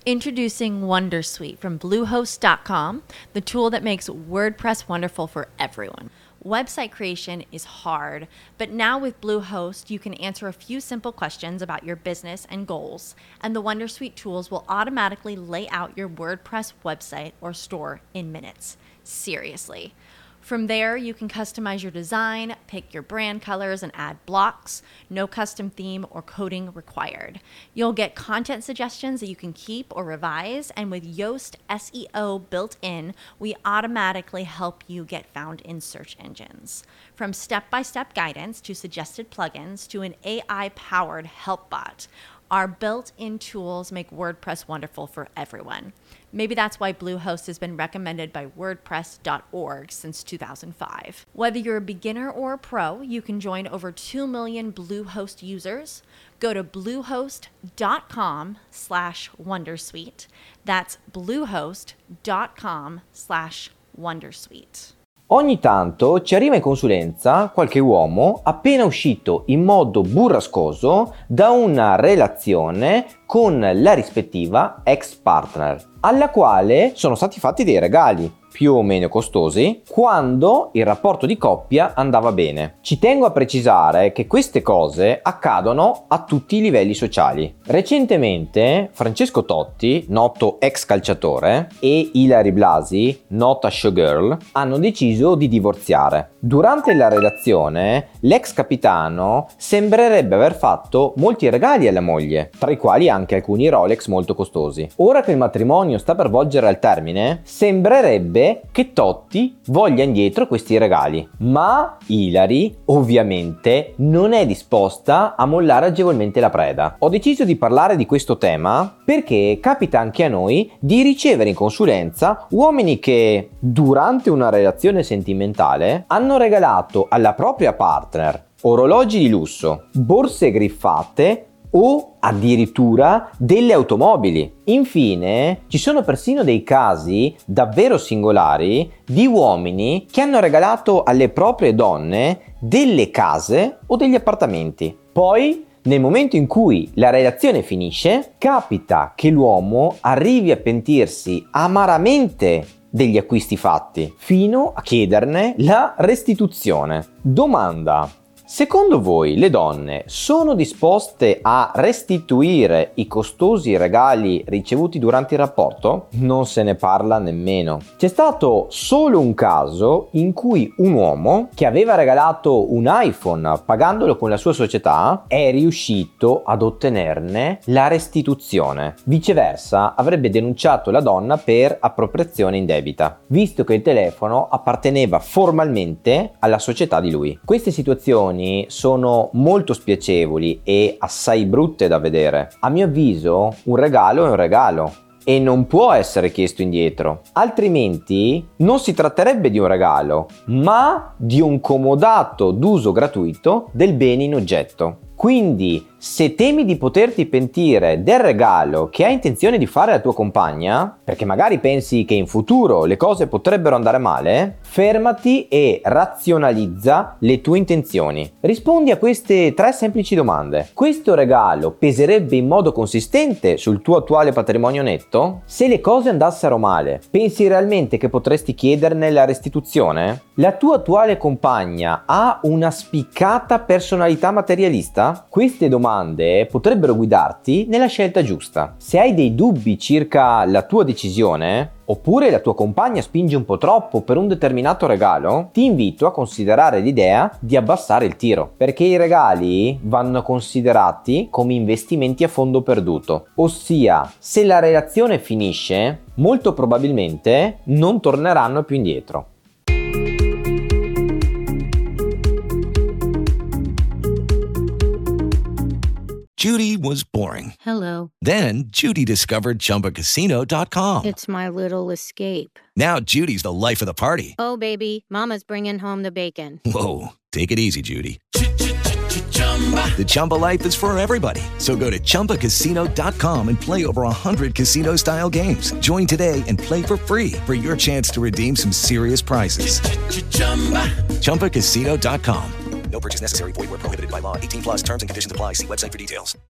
Introducing Wondersuite from Bluehost.com, the tool that makes WordPress wonderful for everyone. Website creation is hard, but now with Bluehost, you can answer a few simple questions about your business and goals, and the Wondersuite tools will automatically lay out your WordPress website or store in minutes. Seriously. From there, you can customize your design, pick your brand colors, and add blocks. No custom theme or coding required. You'll get content suggestions that you can keep or revise, and with Yoast SEO built in, we automatically help you get found in search engines. From step-by-step guidance to suggested plugins to an AI-powered help bot, our built-in tools make WordPress wonderful for everyone. Maybe that's why Bluehost has been recommended by WordPress.org since 2005. Whether you're a beginner or a pro, you can join over 2 million Bluehost users. Go to bluehost.com/wondersuite. That's bluehost.com/wondersuite. Ogni tanto ci arriva in consulenza qualche uomo appena uscito in modo burrascoso da una relazione con la rispettiva ex partner, alla quale sono stati fatti dei regali più o meno costosi quando il rapporto di coppia andava bene. Ci tengo a precisare che queste cose accadono a tutti i livelli sociali. Recentemente Francesco Totti, noto ex calciatore, e Ilary Blasi, nota showgirl, hanno deciso di divorziare. Durante la relazione l'ex capitano sembrerebbe aver fatto molti regali alla moglie, tra i quali anche alcuni Rolex molto costosi. Ora che il matrimonio sta per volgere al termine, sembrerebbe che Totti voglia indietro questi regali, ma Ilary ovviamente non è disposta a mollare agevolmente la preda. Ho deciso di parlare di questo tema perché capita anche a noi di ricevere in consulenza uomini che durante una relazione sentimentale hanno regalato alla propria partner orologi di lusso, borse griffate o addirittura delle automobili. Infine, ci sono persino dei casi davvero singolari di uomini che hanno regalato alle proprie donne delle case o degli appartamenti. Poi, nel momento in cui la relazione finisce, capita che l'uomo arrivi a pentirsi amaramente degli acquisti fatti, fino a chiederne la restituzione. Domanda: secondo voi le donne sono disposte a restituire i costosi regali ricevuti durante il rapporto? Non se ne parla nemmeno. C'è stato solo un caso in cui un uomo che aveva regalato un iPhone pagandolo con la sua società è riuscito ad ottenerne la restituzione. Viceversa, avrebbe denunciato la donna per appropriazione indebita, visto che il telefono apparteneva formalmente alla società di lui. Queste situazioni sono molto spiacevoli e assai brutte da vedere. A mio avviso, un regalo è un regalo e non può essere chiesto indietro, altrimenti non si tratterebbe di un regalo, ma di un comodato d'uso gratuito del bene in oggetto. Quindi, se temi di poterti pentire del regalo che hai intenzione di fare alla tua compagna, perché magari pensi che in futuro le cose potrebbero andare male, fermati e razionalizza le tue intenzioni. Rispondi a queste 3 semplici domande. Questo regalo peserebbe in modo consistente sul tuo attuale patrimonio netto? Se le cose andassero male, pensi realmente che potresti chiederne la restituzione? La tua attuale compagna ha una spiccata personalità materialista? Queste domande potrebbero guidarti nella scelta giusta. Se hai dei dubbi circa la tua decisione, oppure la tua compagna spinge un po' troppo per un determinato regalo, ti invito a considerare l'idea di abbassare il tiro, perché i regali vanno considerati come investimenti a fondo perduto, ossia se la relazione finisce, molto probabilmente non torneranno più indietro. Judy was boring. Hello. Then Judy discovered ChumbaCasino.com. It's my little escape. Now Judy's the life of the party. Oh, baby, mama's bringing home the bacon. Whoa, take it easy, Judy. The Chumba life is for everybody. So go to ChumbaCasino.com and play over 100 casino-style games. Join today and play for free for your chance to redeem some serious prizes. ChumbaCasino.com. No purchase necessary. Void where prohibited by law. 18 plus terms and conditions apply. See website for details.